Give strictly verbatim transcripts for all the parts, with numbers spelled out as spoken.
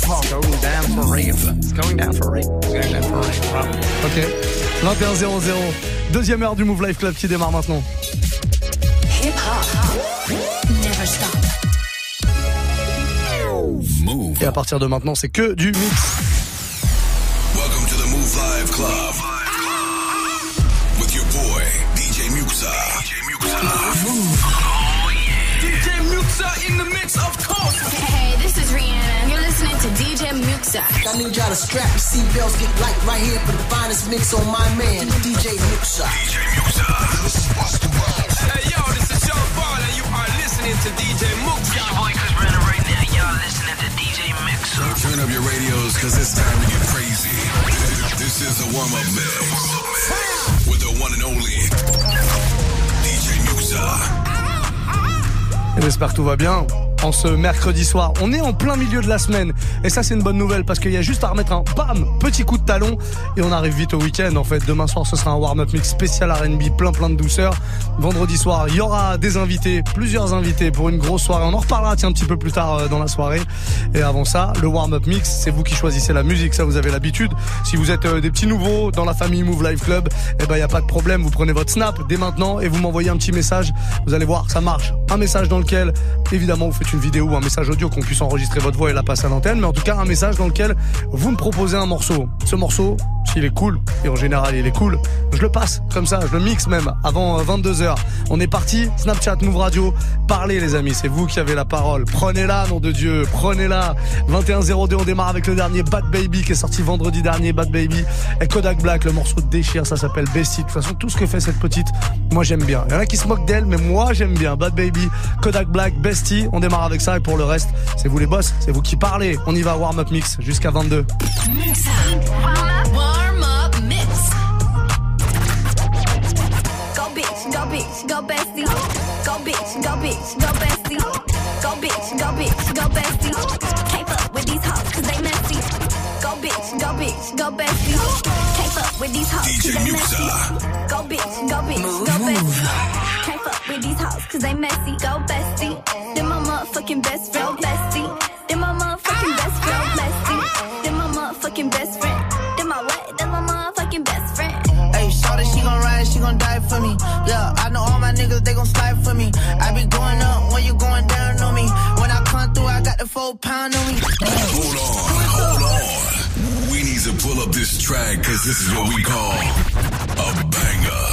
Going down for rave. It's going down for rave. It's going down for rave. Wow. Ok. vingt et un zéro zéro. Deuxième heure du Move Life Club qui démarre maintenant. Hip hop. Never stop. Et à partir de maintenant, c'est que du mix. Welcome to the Move Live Club with your boy D J Muxa. D J Muxa. Oh yeah. D J Muxa in the mix, of course. Hey, this is Rihanna. You're listening to D J Muxa. I need y'all to strap your seatbelts, get light right here for the finest mix on my man, D J Muxa. D J Muxa. This is Busta Rhymes. Hey yo, this is Sean Paul and you are listening to D J Muxa. It's your boy Chris Brennan right now. Y'all listening to D J Muxa. Turn up your radios, cause it's time to get crazy. This is the warm-up mix with the one and only D J Muxa. Et j'espère que tout va bien. En ce mercredi soir, on est en plein milieu de la semaine et ça c'est une bonne nouvelle parce qu'il y a juste à remettre un bam petit coup de talon et on arrive vite au week-end. En fait demain soir ce sera un warm-up mix spécial R and B, plein plein de douceur. Vendredi soir il y aura des invités, plusieurs invités pour une grosse soirée. On en reparlera tiens un petit peu plus tard dans la soirée. Et avant ça le warm-up mix, c'est vous qui choisissez la musique, ça vous avez l'habitude. Si vous êtes des petits nouveaux dans la famille Move Live Club, eh ben il y a pas de problème, vous prenez votre snap dès maintenant et vous m'envoyez un petit message. Vous allez voir ça marche, un message dans lequel évidemment vous faites une vidéo ou un message audio qu'on puisse enregistrer votre voix et la passer à l'antenne, mais en tout cas un message dans lequel vous me proposez un morceau. Ce morceau, s'il est cool, et en général il est cool, je le passe comme ça, je le mixe même avant vingt-deux heures. On est parti, Snapchat, Move Radio, parlez les amis, c'est vous qui avez la parole. Prenez-la, nom de Dieu, prenez-la. vingt et un zéro deux, on démarre avec le dernier Bad Baby qui est sorti vendredi dernier, Bad Baby et Kodak Black, le morceau de déchire, ça s'appelle Bestie. De toute façon, tout ce que fait cette petite, moi j'aime bien. Il y en a qui se moquent d'elle, mais moi j'aime bien. Bad Baby, Kodak Black, Bestie, on démarre avec ça et pour le reste, c'est vous les boss, c'est vous qui parlez. On y va, warm-up mix jusqu'à vingt-deux. Muxa. Warm up mix. Go bitch, go bitch, go bestie. Go bitch, go bitch, go bestie. Go bitch, go bitch, go bestie. Can't fuck with these hoes cause they messy. Go bitch, go bitch, go bestie. Can't fuck with these hoes cause they messy. Go bitch, go bitch, go bestie. Can't fuck with these hoes cause they messy. Go bestie. Then my motherfucking best friend, bestie. Then my motherfucking best friend, bestie. Then my motherfucking best friend. Then my what? Then my motherfucking best friend. Hey, shorty, she gon' ride, she gon' die for me. Yeah, I know all my niggas, they gon' slide for me. I be going up when you going down on me. When I come through, I got the four pound on me. Hold on, hold on. We need to pull up this track, cause this is what we call a banger.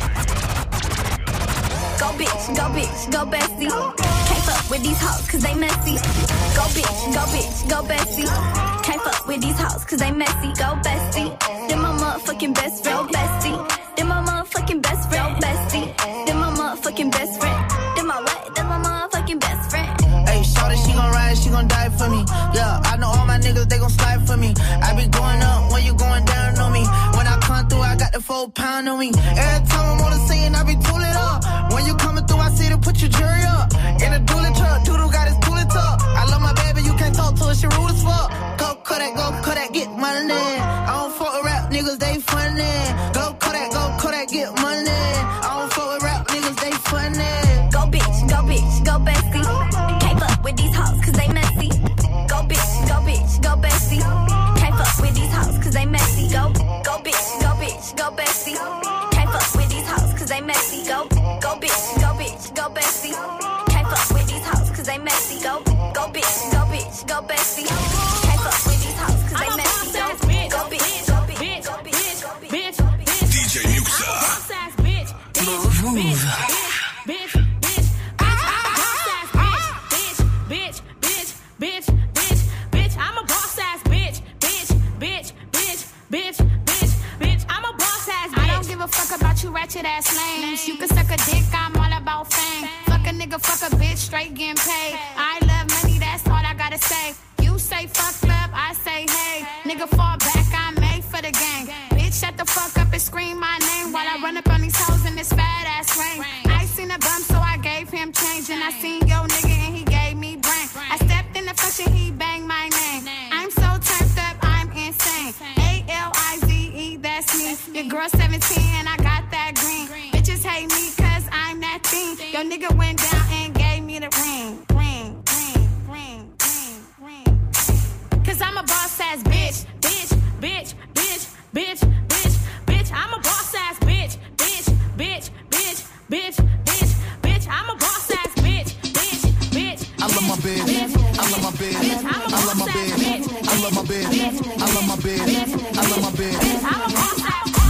Go bitch, go bitch, go bestie. Can't fuck with these hoes cause they messy. Go bitch, go bitch, go bestie. Can't fuck with these hoes cause they messy. Go bestie. Then my motherfucking best friend, bestie. Then my motherfucking best friend, bestie. Then my motherfucking best friend. Then my what? Then my motherfucking best friend. Hey, shorty, she gon' ride, she gon' die for me. Yeah, I know all my niggas, they gon' slide for me. I be going up when you going down on me. When I come through, I got the four pound on me. Every time I'm on the scene, I be tooling up. When you coming through, I see to put your jury up. In a dually truck, Doodle got his tooling tuck. I love my baby, you can't talk to her, she rude as fuck. Go Kodak, go Kodak, get money. I don't fuck with rap niggas, they funny. Go Kodak, go Kodak, get money. I don't fuck with rap niggas, they funny. Go bitch, go bitch, go bestie. Can't fuck with these hoes cause they messy. Go bitch, go bitch, go bestie. Can't fuck with these hoes cause they messy. Go, go bitch, go bitch, go bestie. Can't fuck with these hoes cause they messy. Go, go bitch, go bitch, go bestie. Can't fuck with these hoes cause they messy. Go, go bitch, go bitch, go bestie. Can't fuck with these hoes cause they messy. Go, go bitch, go bitch, go bitch, go bitch, go bitch. D J Muxa. Move, move. Ratchet ass lames. You can suck a dick, I'm all about fame. Fuck a nigga, fuck a bitch, straight getting paid. I love money, that's all I gotta say. You say fuck love, I say hey. Nigga fall back, I'm made for the gang. Bitch, shut the fuck up and scream my name while I run up on these hoes in this fat ass rain. I seen a bum, so I gave him change. And I seen yo nigga and he gave me brain. I stepped in the function, he banged my name. I'm so turned up, I'm insane. A L I Z E, that's me. Your girl seventeen and I got that green. Bitches hate me cause I'm that thing. Yo nigga went down and gave me the ring. Ring, ring. love my bitch. I love my bitch. I love my bitch. I love my bitch. I love my bitch. I love my bitch.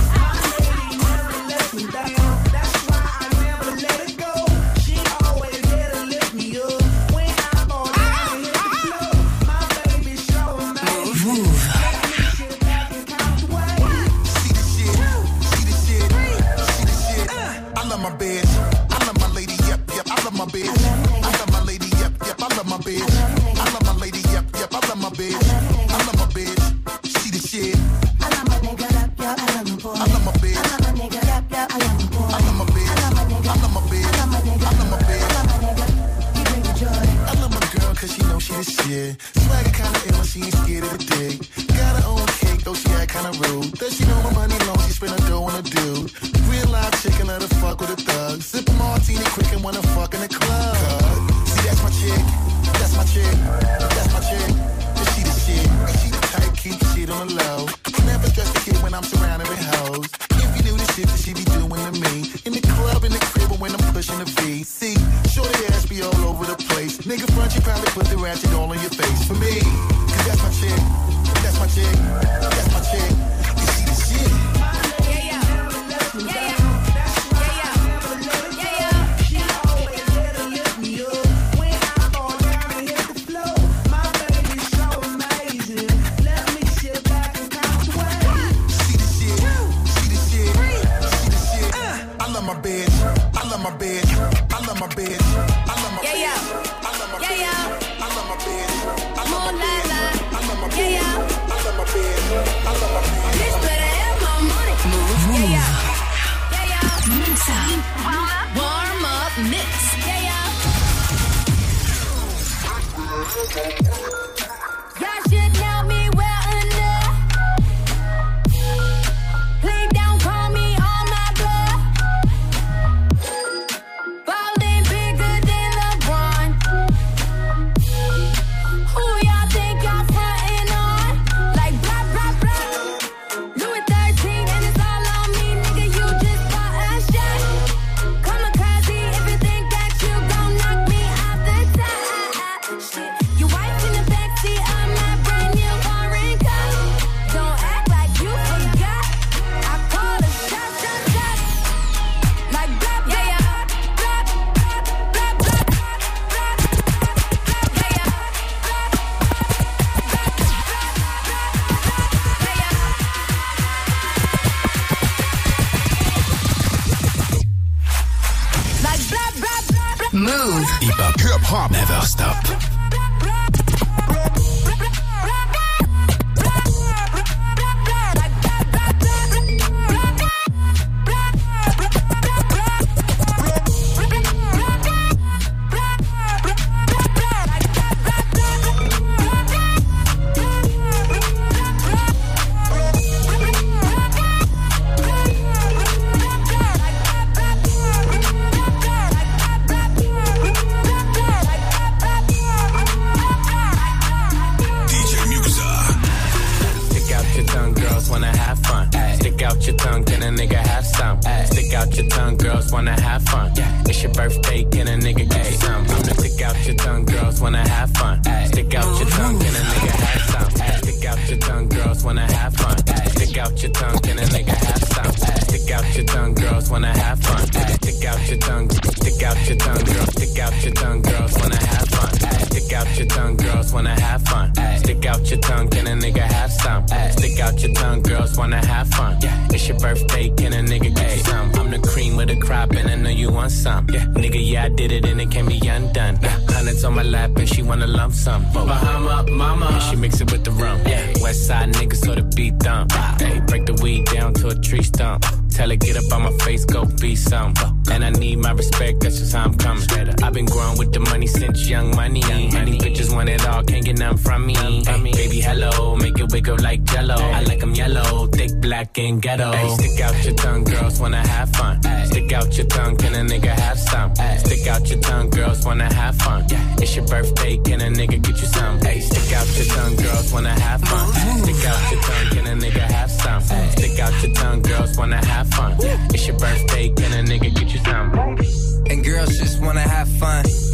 Ghetto. Ay, stick out your tongue, girls wanna have fun. Ay, stick out your tongue, can a nigga have some? Ay, stick out your tongue, girls wanna have fun. Yeah. It's your birthday, can a nigga get you some? Ay, stick out your tongue, girls wanna have fun. Ay, stick out your tongue, can a nigga have some? Ay, stick out your tongue, girls wanna have fun. It's your birthday, can a nigga get you some? And girls just wanna have fun.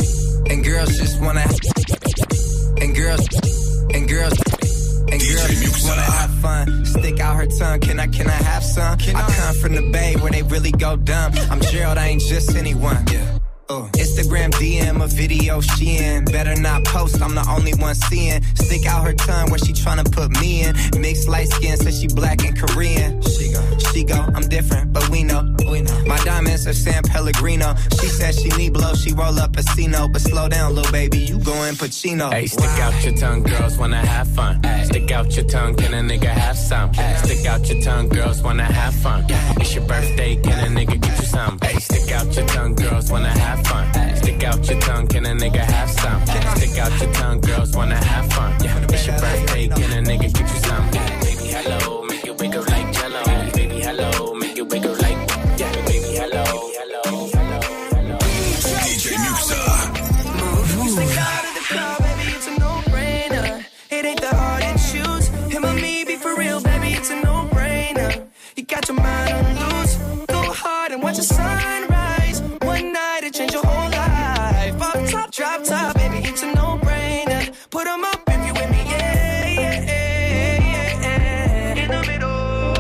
And girls just wanna. And girls. And girls. And girls just wanna have fun. Stick out her tongue. Can I, can I have some? Can I, I come from the Bay where they really go dumb. I'm Gerald, I ain't just anyone. Yeah. Uh, Instagram D M a video she in. Better not post, I'm the only one seeing. Stick out her tongue where she tryna put me in. Mixed light skin, says she black and Korean. She go, she go, I'm different, but we know, we know. My diamonds are San Pellegrino. She said she need blow, she roll up a C-no. But slow down, little baby, you going Pacino. Hey, stick wow. out your tongue, girls wanna have fun. Ay. Stick out your tongue, can a nigga have some? Ay. Stick out your tongue, girls wanna have fun. Ay. It's your birthday, can a nigga get you some? Ay. Stick out your tongue, girls wanna have fun. Ay. Stick out your tongue, can a nigga have some? Ay. Stick out your tongue, girls wanna have fun. Yeah. It's your birthday, can a nigga get you some? Ay. Baby, hello, make it wiggle like jello. Ay. Baby, hello, make it wiggle like, yeah. Baby, hello, hello, hello, hello. D J Muxa. Stick out of the car, baby, it's a no-brainer. It ain't that hard to choose. Him or me, be for real, baby, it's a no-brainer. You got your mind on loose. Go hard and watch the sunrise. One night it change your whole life. Off top, drop top, baby, it's a no-brainer. Put 'em up if you with me, yeah, yeah, yeah, yeah. In the middle.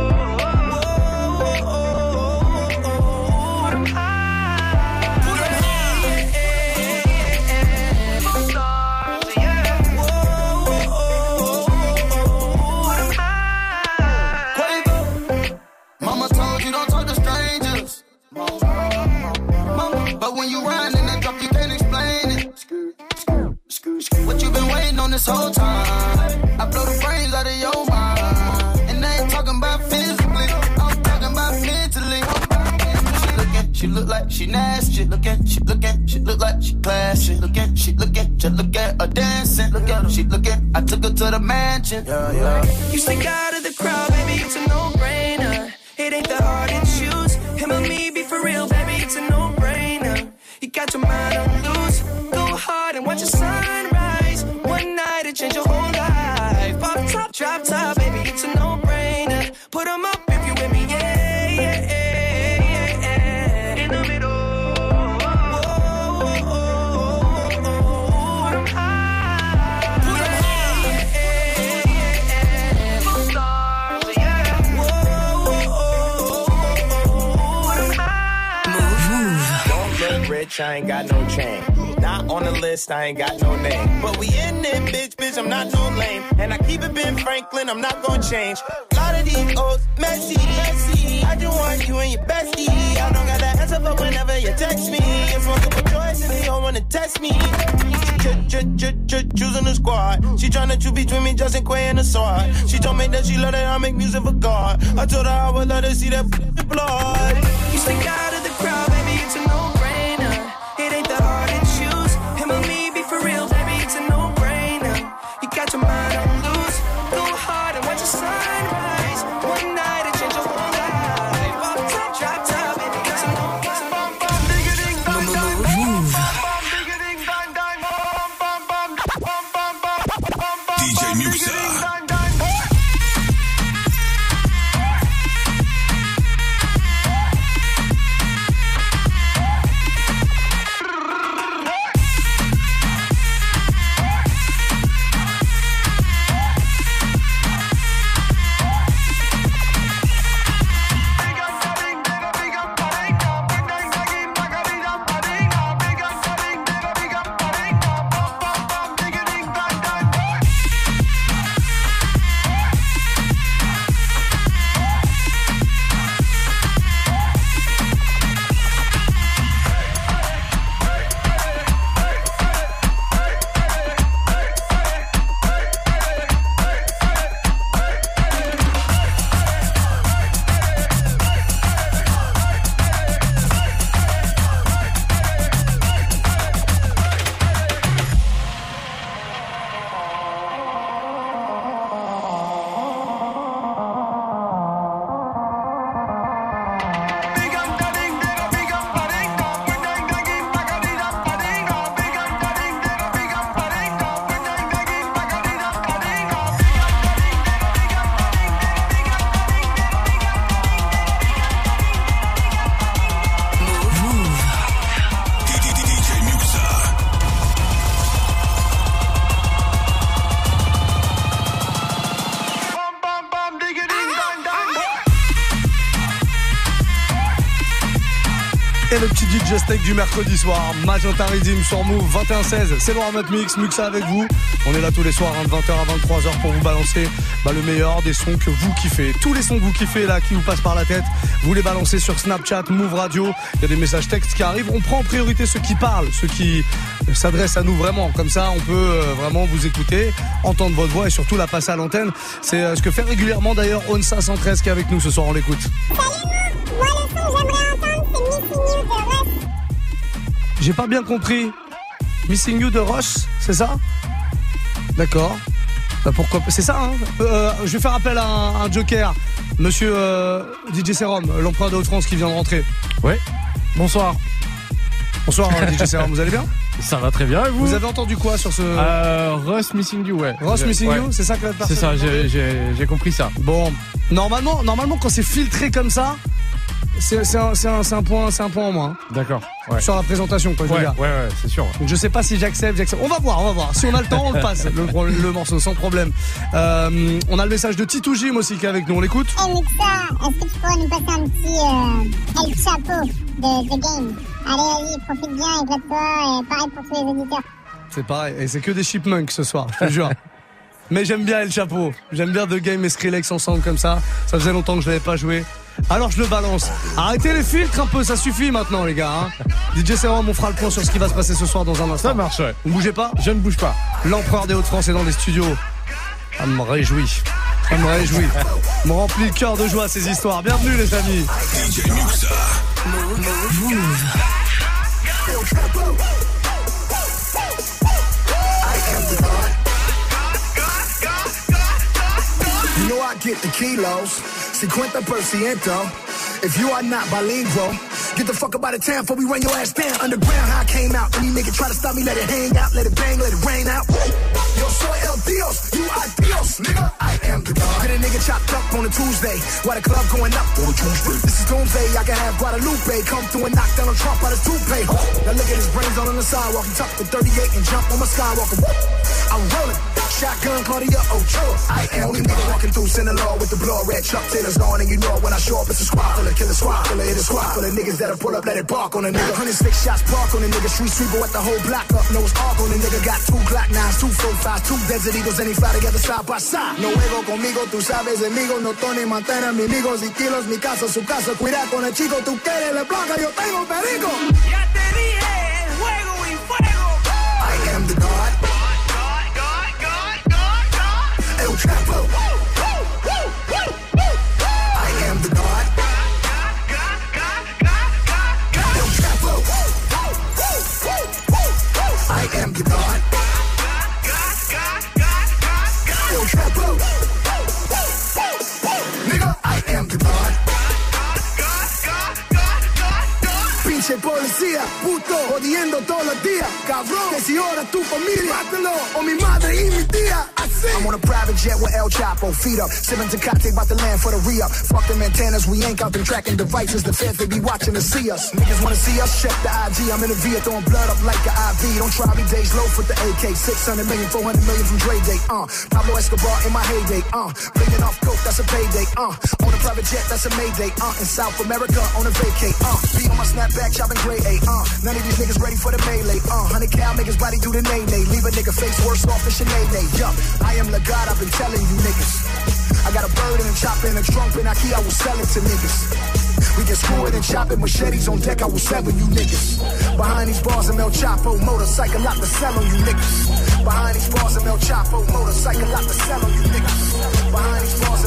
But when you ride in that drop, you can't explain it. What you been waiting on this whole time? I blow the brains out of your mind. And I ain't talking about physically, I'm talking about mentally. She looking, she look like she nasty. Looking, she looking, she look like she classy. Looking, she looking, just look at her dancing. Look at her, she looking, I took her to the mansion. Yeah, yeah. You stick out of the crowd, baby, it's a no-brainer. It ain't that hard to choose. Him or me, be for real, baby, it's a no-brainer. You got your mind on loose. Go hard and watch the sunrise. One night it change your whole life. Pop top, drop top, baby, it's a no-brainer. Put 'em up if you with me, yeah, yeah, yeah, yeah. In the middle. I ain't got no chain. Not on the list, I ain't got no name. But we in it, bitch, bitch, I'm not no lame. And I keep it Ben Franklin, I'm not gonna change. A lot of these old messy, messy. I just want you and your bestie. I don't got the answer for whenever you text me. It's multiple choice and they don't wanna test me. Choosing the squad. She tryna choose between me, Justin Quay and the sword. She told me that she love that I make music for God. I told her I would let her see that blood. You stick out of the crowd, baby, it's a no-brainer. It ain't that hard to choose. Him or me, be for real, baby, it's a no-brainer. You got your mind on loose. Go hard and watch the sunrise. One night it change your whole life. Pop top, drop top, baby, it's a D J Muxa. le petit D J steak du mercredi soir. Magenta Rhythm sur Move, vingt et un seize. C'est le warm-up mix, Muxa avec vous. On est là tous les soirs, hein, de vingt heures à vingt-trois heures pour vous balancer bah, le meilleur des sons que vous kiffez. Tous les sons que vous kiffez là, qui vous passent par la tête, vous les balancez sur Snapchat, Move Radio. Il y a des messages textes qui arrivent. On prend en priorité ceux qui parlent, ceux qui s'adressent à nous vraiment. Comme ça, on peut euh, vraiment vous écouter, entendre votre voix et surtout la passer à l'antenne. C'est euh, ce que fait régulièrement d'ailleurs Onsa cent treize qui est avec nous ce soir. On l'écoute. Salut, moi le son que j'aimerais entendre c'est Missing You de Russ. J'ai pas bien compris. Missing You de Ross, c'est ça? D'accord. Bah pourquoi? C'est ça, hein. euh, Je vais faire appel à un, un joker. Monsieur euh, D J Serum, l'empereur de Haute-France qui vient de rentrer. Ouais. Bonsoir. Bonsoir D J Serum, vous allez bien? Ça va très bien et vous? Vous avez entendu quoi sur ce... Euh, Ross Missing You, ouais. Ross Missing ouais. You, c'est ça que la personne... C'est ça, j'ai, j'ai, j'ai compris ça. Bon, normalement, normalement quand c'est filtré comme ça, c'est, c'est, un, c'est, un, c'est, un point, c'est un point en moins. D'accord. Ouais. Sur la présentation, quoi, je ouais, veux dire. Ouais, ouais, c'est sûr. Donc je sais pas si j'accepte, j'accepte. On va voir, on va voir. Si on a le temps, on le passe, le, le morceau, sans problème. Euh, on a le message de Titou Jim aussi qui est avec nous, on l'écoute. Hey Muxa, est-ce que tu pourrais nous passer un petit euh, El Chapo de The Game? Allez, allez, profite bien, éclate-toi, et pareil pour tous les auditeurs. C'est pareil, et c'est que des chipmunks ce soir, je te jure. Mais j'aime bien El Chapo, j'aime bien The Game et Skrillex ensemble comme ça. Ça faisait longtemps que je l'avais pas joué. Alors je le balance. Arrêtez les filtres un peu, ça suffit maintenant les gars. Hein. D J Serum, on fera le point sur ce qui va se passer ce soir dans un instant. Ça marche, ouais. Vous bougez pas? Je ne bouge pas. L'empereur des Hauts-de-France est dans les studios. Ça me réjouit. Ça me réjouit. Me remplit le cœur de joie ces histoires. Bienvenue les amis. D J Muxa. Move. You know I get the kilos, cincuenta por ciento. If you are not bilingual, get the fuck up out of town before we run your ass down. Underground, how I came out. Any nigga try to stop me, let it hang out, let it bang, let it rain out. Yo soy el Dios, you are Dios, nigga. I am the God. Get a nigga chopped up on a Tuesday, while the club going up on a Tuesday. This is Doomsday, I can have Guadalupe come through and knock down on Trump out his toupee. Now look at his brains all on the sidewalk. He tucked the thirty-eight and jump on my skywalker. I'm rolling. Shotgun, Claudia Ochoa. I am only nigga walking through Sinaloa with the blood red Chuck Taylor's on, and you know when I show up, it's a squad full of killer squad full of hit a squad full of niggas that'll pull up, let it bark on a nigga. Hundred six shots park on a nigga, street sweeper at the whole block up, knows arc on a nigga. Got two Glock nines, two four fives, two Desert Eagles, and he fly together side by side. No juego conmigo, tú sabes, amigo, no Tony Montana, mi amigos y kilos, mi casa, su casa, cuida con el chico, tú quieres la blanca, yo tengo perico. Ya te dije, juego y fuego. I am the God. El Chapo. I am the God. El Chapo. I am the God. El Chapo. Nigga, I am the God. Pinche policía, puto, jodiendo todos los días. Cabrón, que si ahora tu familia, mátalo, o mi madre y mi tía. I'm on a private jet with El Chapo, feet up, sipping Tecate, about to land for the re-up. Fuck them antennas, we ain't out them tracking devices. The feds, they be watching to see us. Niggas wanna see us, check the I G. I'm in the V, throwing blood up like an I V. Don't try me, days low for the A K. six hundred million, four hundred million from Dre Day, uh. Pablo Escobar in my heyday, uh. Bringing off coke, that's a payday, uh. On a private jet, that's a Mayday, uh. In South America, on a vacay, uh. Be on my snapback, chopping gray A, uh. None of these niggas ready for the melee, uh. Hundred cal niggas body do the nay-nay. Leave a nigga face worse off than Sinead, yup. I am the God, I've been telling you niggas. I got a bird and a chopper and a trunk and I will sell it to niggas. We can screw it and chop it, machetes on deck, I will sever you niggas. Behind these bars, I'm El Chapo, motorcycle out to sell on you niggas. Behind these bars, I'm El Chapo, motorcycle out to sell on you niggas. Behind these bars,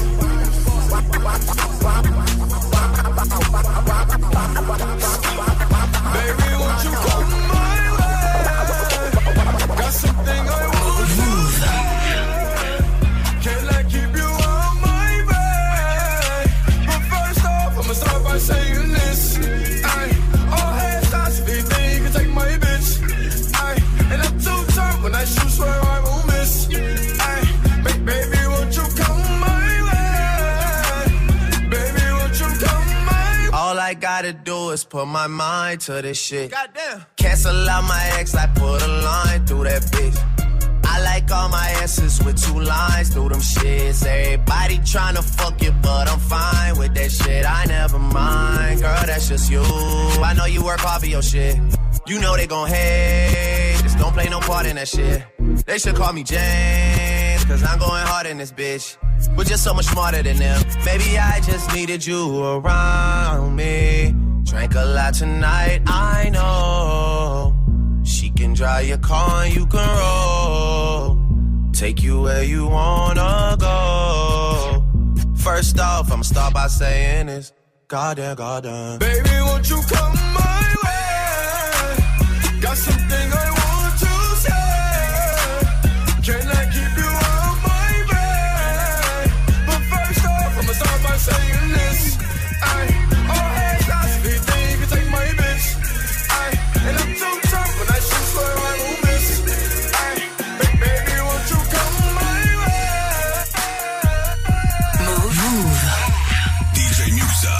Baby, won't you come my way? Got something I want to move. Can I keep you on my way? But first off, I'ma start by saying this. Ay, all hands shots, if you think you can take my bitch. Ay, and I'm too tough when I shoot, swear I won't miss. Ay, baby, won't you come my way? Baby, won't you come my way? All I gotta do is put my mind to this shit. Goddamn. Cancel out my ex, I put a line through that bitch. I like all my answers with two lines through them shits. Everybody tryna fuck you, but I'm fine with that shit. I never mind, girl, that's just you. I know you work hard for your shit. You know they gon' hate. Just don't play no part in that shit. They should call me James, cause I'm going hard in this bitch. We're just so much smarter than them. Maybe I just needed you around me. Drank a lot tonight, I know. She can drive your car and you can roll. Take you where you wanna go. First off, I'ma start by saying this. Goddamn, goddamn. Baby, won't you come my way? Got something I want to say. Can I keep you out my way? But first off, I'ma start by saying this. I, all hands, I speed, think you can take my bitch. I, and I'm too tough when I shoot, swear I won't miss. I, baby, won't you come my way? Move, move. D J Muxa.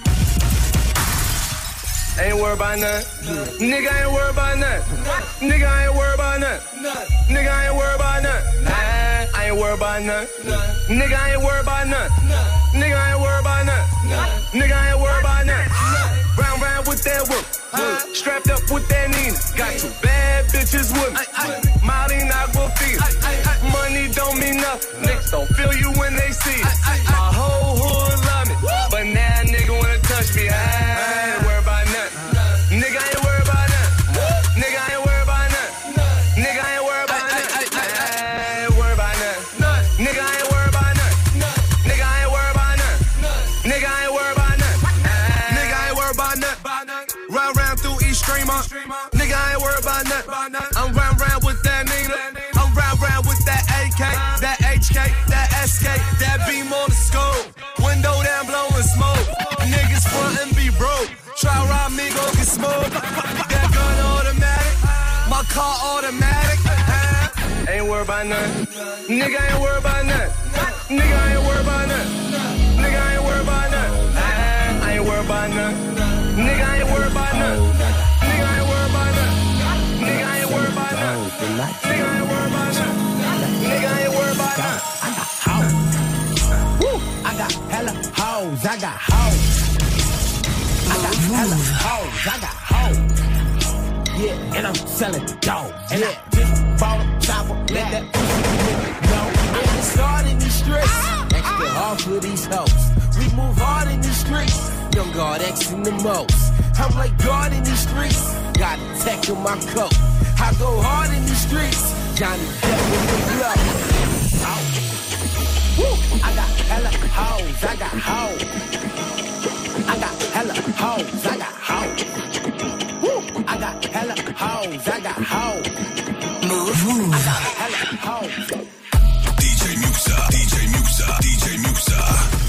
Ain't worried about nothing. Nigga ain't worried about nothing. Nigga ain't worried about nothing. Nigga ain't worried about nothing. I ain't worried about nothing. Nigga ain't worried about nothing. Nigga ain't worried about nothing. Nigga ain't worried about nothing. Round round with that whoop. Strapped up with that Nina. Got two bad bitches with me. Molly Aquafina. Money don't mean nothing. Niggas don't feel you when they see it. My whole hood love me, but now nigga wanna touch me. I ain't worried about nothing. Nigga ain't worried about nothing. Nigga ain't worried about nothing. Nigga ain't worried about nothing. I ain't worried about nothing. Nigga ain't worried about nothing. Nigga ain't worried about nothing. Nigga ain't worried about nothing. Nigga ain't worried about nothing. Round round through East Streamer. Nigga ain't worried about nothing. I'm round round with that Nina. I'm round round with that A K, that H K, that S K, that beam on the scope. Window down blowing smoke. Niggas front and be broke. Try rob me, go get smoked. That gun automatic, my car automatic. Ain't worried about nothing. Nigga ain't worried about nothing. Nigga ain't worried about nothing. Nigga ain't worried about nothing. I ain't worried about nothing. Nigga ain't worried about nothing. Nigga ain't worried about nothing. Nigga ain't worried about nothing. Nigga ain't worried about nothing. Nigga ain't worried about nothing. I got hoes. Woo! I got hella hoes. I got hoes. I got hella hoes. I got hoes. Yeah, and I'm selling dope. And I just bought a chopper. Let that pussy know. I get started in these streets. Extra hard for these hoes. We move hard in these streets. Young God X in the most. I'm like God in these streets. Got a tech in my coat. I go hard in these streets. Johnny Depp with the blow. Woo! I got hella hoes. I got hoes. I got hella hoes. I got hoes. Woo! I got hella hoes. I got hoes. Move, move. I got hella hoes. D J Muxa. D J Muxa. D J Muxa.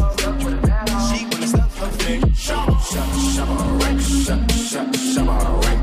Shabba rank, shabba, shabba rank.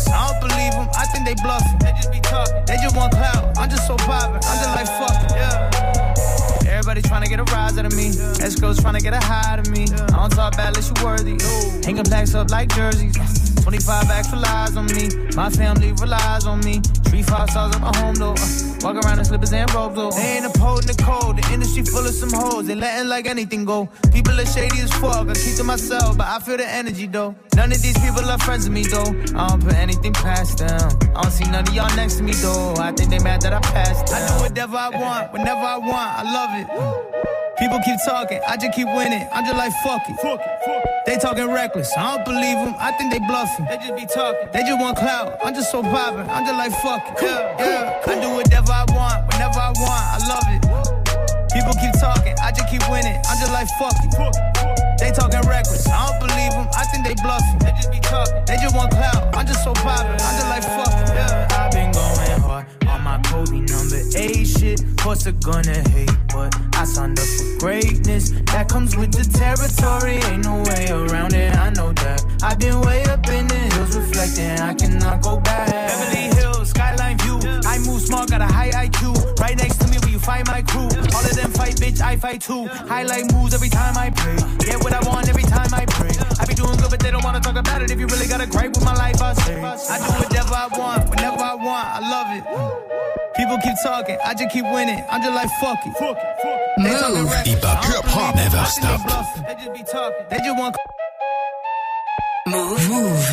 I don't believe them, I think they bluffing. They just be talking, they just want clout. I'm just so poppin', I'm just like fuck it, yeah. Everybody tryna get a rise out of me. Escrows tryna get a high out of me. I don't talk bad unless you worthy. Hanging plaques up like jerseys. twenty-five bags for lies on me. My family relies on me. Three five stars at my home though. Uh, walk around in slippers and robes though. They ain't upholding the code. The industry full of some hoes. They letting like anything go. People are shady as fuck. I keep to myself, but I feel the energy though. None of these people are friends with me though. I don't put anything past them. I don't see none of y'all next to me though. I think they mad that I passed them. I do whatever I want, whenever I want. I love it. People keep talking, I just keep winning. I'm just like fuck it. Fuck it, fuck it. They talking reckless, I don't believe them. I think they bluffing. They just be talking, they just want clout. I'm just so poppin', I'm just like fuck it. Yeah, yeah. I do whatever I want, whenever I want. I love it. People keep talking, I just keep winning. I'm just like fuck it. They talking reckless, I don't believe them. I think they bluffing. They just be talking, they just want clout. I'm just so poppin', I'm just like fuck it. Yeah. I've been going hard on my Kobe number eight shit. Course they're gonna hate, but I signed up for greatness. That comes with the territory, ain't no way around it, I know that. I've been way up in the hills reflecting, I cannot go back. Beverly Hills, skyline view. I move smart, got a high I Q. Right next to me where you find my crew. All of them fight, bitch, I fight too. Highlight moves every time I pray. Get what I want every time I pray. I be doing good, but they don't wanna talk about it. If you really got a gripe with my life, I say I do whatever I want, whenever I want, I love it. People keep talking, I just keep winning. I'm just like fuck it. Fuck it, fuck it. They talking Move. reckless, Hip hop, I don't hip hop, believe it. never I think they stop. bluffing. They just be talking, they just want. Move. Move.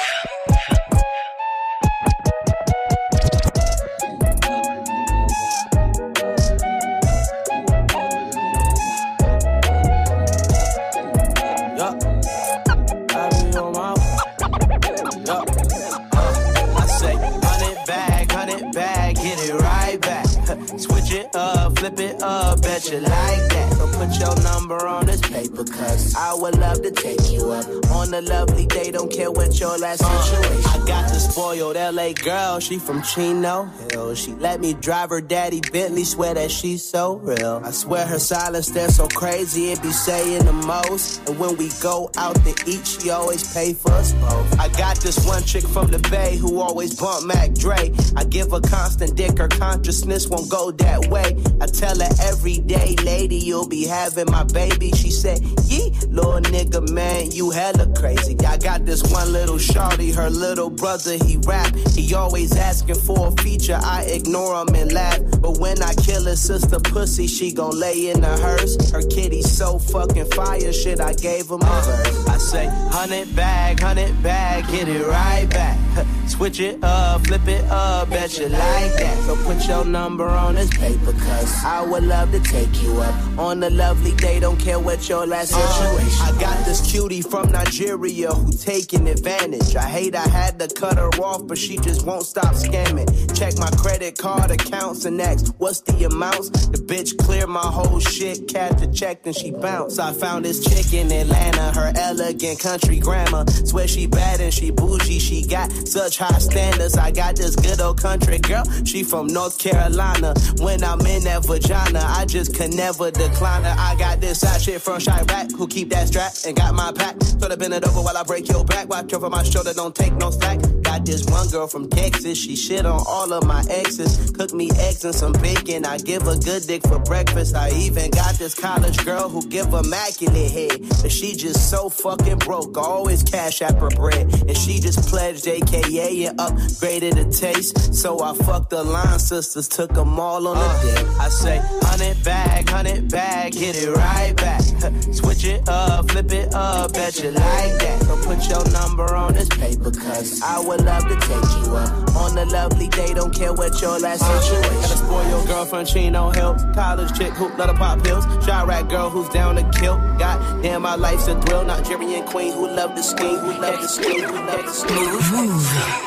Flip it up, bet you like that. So put your number on this paper, cause I would love to take you up on a lovely day, don't care what your last situation. I got the spoiled L A girl, she from Chino Hills. She let me drive her daddy Bentley, swear that she's so real. I swear her silence, they're so crazy, it be saying the most. And when we go out to eat, she always pay for us both. I got this one chick from the Bay who always bump Mac Dre. I give her constant dick, her consciousness won't go that way. I tell her every day, lady, you'll be having my baby. She said, yee, little nigga, man, you hella crazy. I got this one little shawty, her little brother, he rap. He always asking for a feature, I ignore him and laugh. But when I kill his sister pussy, she gon' lay in the hearse. Her kitty's so fucking fire, shit, I gave him a verse. I say, hundred bag, hundred bag, get it right back. Switch it up, flip it up, bet you like that. So put your number on this paper, cause I would love to take you up on a lovely day, don't care what your last situation. I got this cutie from Nigeria who taking advantage. I hate I had to cut her off, but she just won't stop scamming. Check my credit card accounts and ask, what's the amounts? The bitch cleared my whole shit, cash the check, then she bounced. I found this chick in Atlanta, her elegant country grammar. Swear she bad and she bougie, she got such high standards. I got this good old country girl, she from North Carolina. When I'm in that vagina, I just can never decline her. I got this side shit from Chirac who keep that strap and got my pack. So to bend it over while I break your back. Watch over my shoulder, don't take no slack. Got this one girl from Texas, she shit on all of my exes. Cook me eggs and some bacon, I give a good dick for breakfast. I even got this college girl who give immaculate head, but she just so fucking broke, I always cash app her bread. And she just pledged A K A and upgraded the taste. So I fucked the line sisters, took them all on the dick. I say, hundred bag, hundred bag, get it right back. Switch it up, flip it up, bet you like that. So put your number on this paper, cause I would love to take you up on a lovely day, don't care what your last situation. Gotta spoil your girlfriend, Chino Hills. College chick who let her pop pills. Chirac girl who's down to kill. God damn, my life's a thrill. Nigerian queen who love to scheme, who love to scheme, who love to scheme.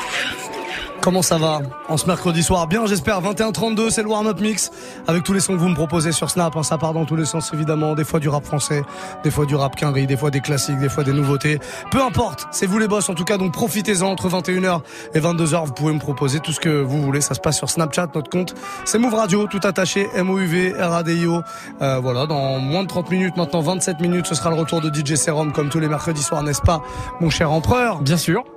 Comment ça va en ce mercredi soir? Bien, j'espère. vingt et un trente-deux, c'est le warm-up mix avec tous les sons que vous me proposez sur Snap. Hein, ça part dans tous les sens évidemment. Des fois du rap français, des fois du rap quinri, des fois des classiques, des fois des nouveautés. Peu importe, c'est vous les boss en tout cas. Donc profitez-en entre vingt et une heures et vingt-deux heures. Vous pouvez me proposer tout ce que vous voulez. Ça se passe sur Snapchat, notre compte. C'est Move Radio, tout attaché. M O U V R A D I O. Euh, voilà, dans moins de trente minutes, maintenant vingt-sept minutes, ce sera le retour de D J Serum comme tous les mercredis soirs, n'est-ce pas, mon cher empereur? Bien sûr.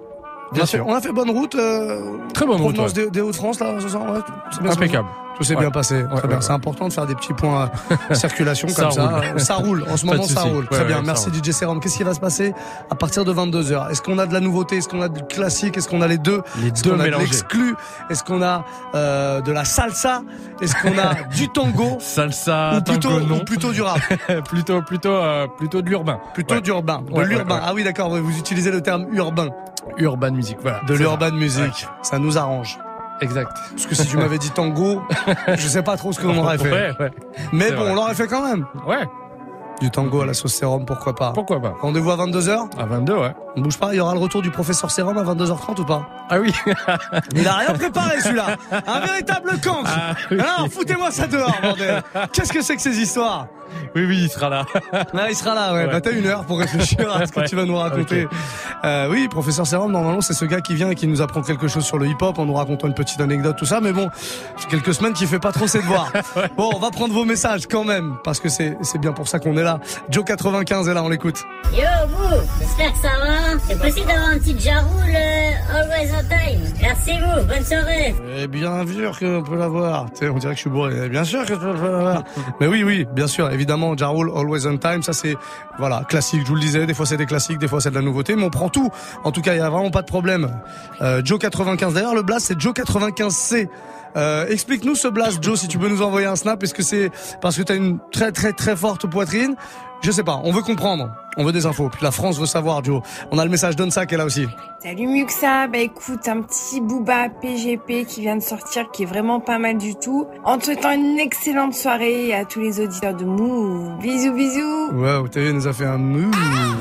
Bien sûr. On a fait bonne route. Euh, Très bonne route. Provenance Ouais. des, des Hauts-de-France, là, ce soir, ouais. C'est bien Impeccable. Tout s'est Ouais. bien passé. Ouais, Très bien. ouais, C'est ouais. important de faire des petits points euh, circulation Ça comme ça. roule. Ça roule. En ce Pas de moment, ça souci. roule. Très Ouais, bien. ouais, Merci ça roule. D J Serum. Qu'est-ce qui va se passer à partir de vingt-deux heures? Est-ce qu'on a de la nouveauté? Est-ce qu'on a du classique? Est-ce qu'on a les deux? Les Est-ce deux qu'on a de mélangés. l'exclu? Est-ce qu'on a euh, de la salsa? Est-ce qu'on a du tango? Salsa, Ou plutôt, tango, non. ou plutôt du rap? plutôt, plutôt, euh, plutôt de l'urbain. Plutôt Ouais. d'urbain. De Ouais, l'urbain. ouais, ouais. Ah oui, d'accord. Vous utilisez le terme urbain. Urban music, voilà. De C'est l'urban ça. music. Ouais. Ça nous arrange. Exact. Parce que si tu m'avais dit tango, je sais pas trop ce qu'on aurait fait. Ouais, ouais. Mais C'est bon, vrai. on l'aurait fait quand même. Ouais. Du tango à la sauce sérum, pourquoi pas? Pourquoi pas? Rendez-vous à vingt-deux heures? À vingt-deux, ouais. On bouge pas, il y aura le retour du professeur Sérum à vingt-deux heures trente ou pas? Ah oui. Il a rien préparé celui-là. Un véritable cancre. Ah, oui. Alors, foutez-moi ça dehors, bordel. Qu'est-ce que c'est que ces histoires? Oui, oui, il sera là. Ah, il sera là, ouais. Ouais. Bah, t'as une heure pour réfléchir à ce que Ouais. tu vas nous raconter. Ok. Euh, oui, professeur Sérum, normalement, c'est ce gars qui vient et qui nous apprend quelque chose sur le hip-hop en nous racontant une petite anecdote, tout ça. Mais bon, c'est quelques semaines qu'il fait pas trop ses devoirs. Bon, on va prendre vos messages quand même, parce que c'est, c'est bien pour ça qu'on est là. Joe quatre-vingt-quinze est là, on l'écoute. Yo, vous, j'espère que ça va. C'est possible d'avoir un petit Jaroul euh, Always on Time. Merci vous, bonne soirée. Eh bien sûr qu'on peut l'avoir. Tu sais, on dirait que je suis bourré. Eh bien sûr que je peux l'avoir. Mais oui, oui, bien sûr, évidemment, Ja Rule, Always on Time, ça c'est, voilà, classique, je vous le disais, des fois c'est des classiques, des fois c'est de la nouveauté, mais on prend tout. En tout cas, il y a vraiment pas de problème. Euh, Joe quatre-vingt-quinze, d'ailleurs, le blast c'est Joe quatre-vingt-quinze C. Euh, explique-nous ce blast, Joe, si tu peux nous envoyer un snap. Est-ce que c'est parce que t'as une très très très forte poitrine? Je sais pas, on veut comprendre, on veut des infos. Puis la France veut savoir, Joe. On a le message d'Onsa qui est là aussi. Salut Muxa, bah écoute, un petit Booba P G P qui vient de sortir, qui est vraiment pas mal du tout. En te souhaitant une excellente soirée à tous les auditeurs de Move. Bisous bisous. Ouais, t'as vu, il nous a fait un mou.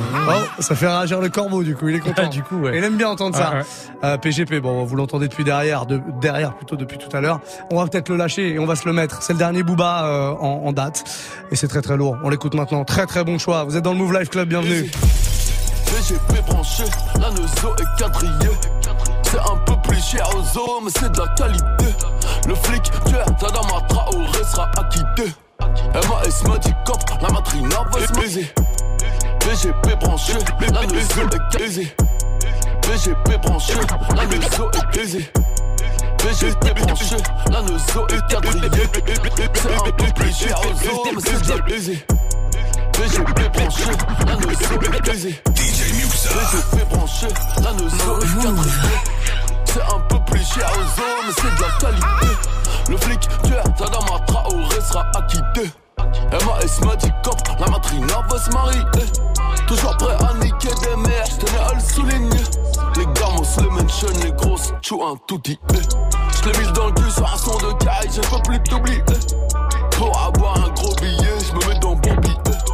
Oh, ça fait réagir le corbeau, du coup, il est content. Du coup, ouais. Il aime bien entendre ça. Ah, ouais. Euh, P G P, bon, vous l'entendez depuis derrière, de, derrière plutôt depuis tout à l'heure. On va peut-être le lâcher et on va se le mettre. C'est le dernier Booba euh, en, en date. Et c'est très très lourd. On l'écoute maintenant. Très très bon choix. Vous êtes dans le Move Life Club, bienvenue. P G P branché, la Neuzo est quadrillée. C'est un peu plus cher aux zoo, mais c'est de la qualité. Le flic tueur, Tadama Traoré sera acquitté. M A S me dit cop, la matrina va se baiser. P G P branché, la Neuzo est quadrillée. P G P branché, la Neuzo est baisée. P G P branché, la Neuzo est quadrillée. C'est un peu plus cher aux zoo, mais c'est de la baiser. P G P branché, la Neuzo est baisée. D J Muxa. P G P branché, la Neuzo est quadrillée. C'est un peu plus cher aux zoo, mais c'est de la qualité. Le flic tueur, Tadama Traoré sera acquitté. M A S me dit cop, la matrina va se marier. Toujours prêt à niquer des mères, j'tenais à le souligner. Les gamos, les mentions, les grosses, tchou un touti. J'l'ai mis dans le cul sur un son de caille, je peux plus t'oublier. Pour avoir un gros billet, j'me mets dans bon billet.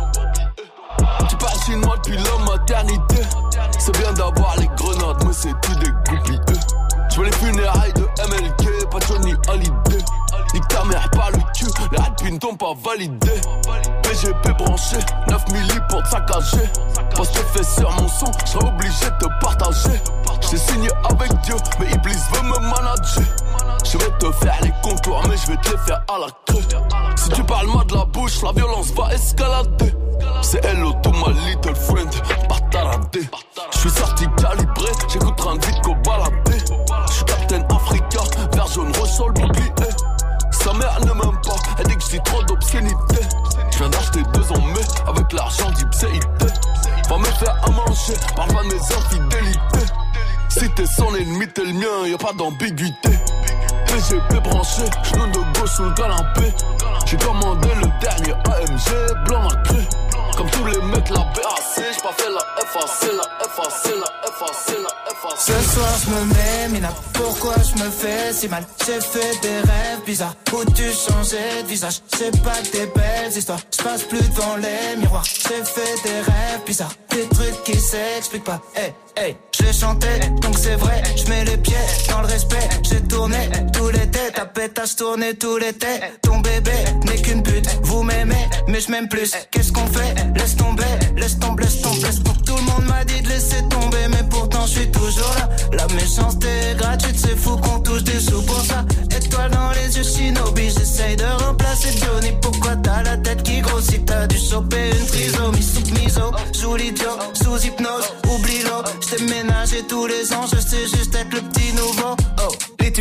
Tu parles chinois depuis la maternité. C'est bien d'avoir les grenades, mais c'est tout des groupies. J'veux les funérailles de M L K, pas Johnny Hallyday. Nique ta mère par le cul, les radpins t'ont pas validé. P G P branché, neuf milli pour te saccager. Parce que fait sur mon son, j'serais obligé de te partager. J't'ai signé avec Dieu, mais Iblis veut me manager. Je vais te faire les contours, mais je vais te les faire à la creux. Si tu parles mal de la bouche, la violence va escalader. C'est hello to my little friend, pas taradé. J'suis sorti calibré, j'écoute train de vite qu'au baladé. J'suis Captain Africa, vert jaune rouge sur le bouclier. Sa mère ne m'aime pas, elle dit que j'dis trop d'obscénité. J'viens d'acheter deux en mai, avec l'argent d'Ipséité. Va me faire à manger, parle pas de mes infidélités. Si t'es son ennemi, t'es le mien, y'a pas d'ambiguïté. P G P branché, genou de gauche sous le canapé. J'ai commandé le dernier A M G, blanc nacré. Comme tous les mecs, la B A C, j'ai pas fait la F A C, la F A C, la F A C, la F A C. Ce soir je me mets mina, pourquoi je me fais si mal? J'ai fait des rêves bizarres, où tu changeais de visage. C'est pas que des belles histoires, je passe plus devant les miroirs. J'ai fait des rêves bizarres, des trucs qui s'expliquent pas. Hey, hey, je chanté, donc c'est vrai, je mets les pieds dans le respect. J'ai tourné tout l'été, ta pétasse tournée tout l'été. Ton bébé n'est qu'une pute, vous m'aimez, mais je m'aime plus. Qu'est-ce qu'on fait? Laisse tomber, laisse tomber, laisse tomber, laisse tomber. Tout le monde m'a dit de laisser tomber, mais pourtant je suis toujours là. La méchanceté est gratuite, c'est fou qu'on touche des sous pour ça. Étoile dans les yeux, Shinobi, j'essaye de remplacer Johnny. Pourquoi t'as la tête qui grossit? T'as dû choper une trisomie sous miso. Joue l'idiot, sous hypnose, oublie l'eau. J't'ai ménagé tous les ans, je sais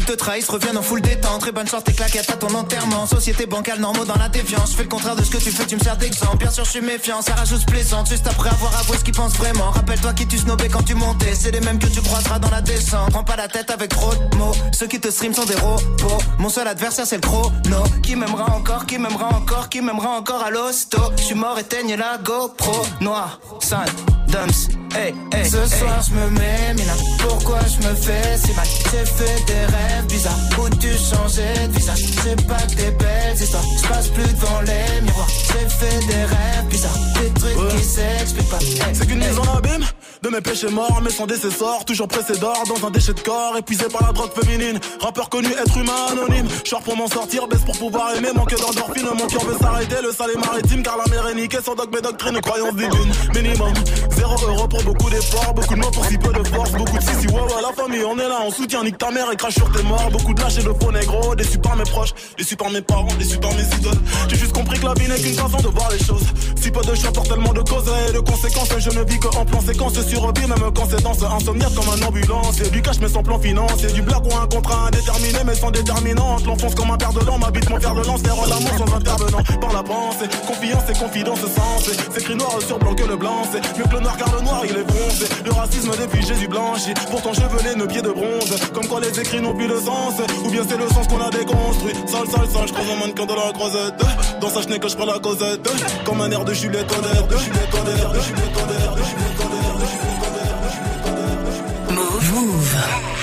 qu'ils te trahissent reviennent en full détente. Très bonne chance, tes claquettes à ton enterrement. Société bancale, normaux dans la défiance. Je fais le contraire de ce que tu fais, tu me sers d'exemple. Bien sûr, je suis méfiant, ça rajoute plaisante. Juste après avoir avoué ce qu'ils pensent vraiment. Rappelle-toi qui tu snobais quand tu montais. C'est les mêmes que tu croiseras dans la descente. Prends pas la tête avec trop de mots. Ceux qui te stream sont des robots. Mon seul adversaire, c'est le chrono. Qui m'aimera encore, qui m'aimera encore, qui m'aimera encore à l'hosto. Je suis mort, éteigne la GoPro. Noir, sale, dumps. Hey, hey, ce hey. soir je me mets mina. Pourquoi je me fais si mal? J'ai fait des rêves bizarres où tu changeais de visage. C'est pas que des belles histoires. Je passe plus devant les miroirs. J'ai fait des rêves bizarres, des trucs ouais. qui s'expliquent pas. Hey, c'est qu'une hey. mise en abîme de mes péchés morts, mais sans décessor. Toujours pressé d'or dans un déchet de corps, épuisé par la drogue féminine. Rappeur connu, être humain anonyme. Short pour m'en sortir, baisse pour pouvoir aimer. Manque d'endorphine, mon cœur veut s'arrêter. Le sale est maritime car la mer est niquée. Sans dogme et doctrine, croyance divine. Minimum, zéro euro pour beaucoup d'efforts. Beaucoup de mots pour si peu de force. Beaucoup de si si ouais ouais la famille on est là. On soutient, nique ta mère et crache sur tes morts. Beaucoup de lâches et de faux négros. Déçus par mes proches, déçus par mes parents, déçus par mes idoles. J'ai juste compris que la vie n'est qu'une façon de voir les choses. Si peu de choix pour tellement de causes et de conséquences. Je ne vis que en plan séquence survie, même quand c'est dans ce insomniaque comme un ambulance. Et du cash mais sans plan financier. Du blague ou un contrat indéterminé mais sans déterminante. L'enfonce comme un père de l'an, m'habite mon fer de lance. Faire l'amour sans intervenant par la pensée. Confiance et confidence sens. C'est écrit noir sur blanc que le blanc. C'est mieux que le noir car le noir il est bronzé. Le racisme depuis Jésus blanchi. Pourtant chevelé, nos pieds de bronze. Comme quoi les écrits n'ont plus de sens. Ou bien c'est le sens qu'on a déconstruit. Sale, sale, sale, j'croise un mannequin de la croisette. Dans sa chenille que j'prends la causette. Comme un air de Juliette Honnête. De Juliette Honnête, de Juliette Honnête, de Juliette Honnête, de Juliette Honnête, de Juliette Honnête. Move.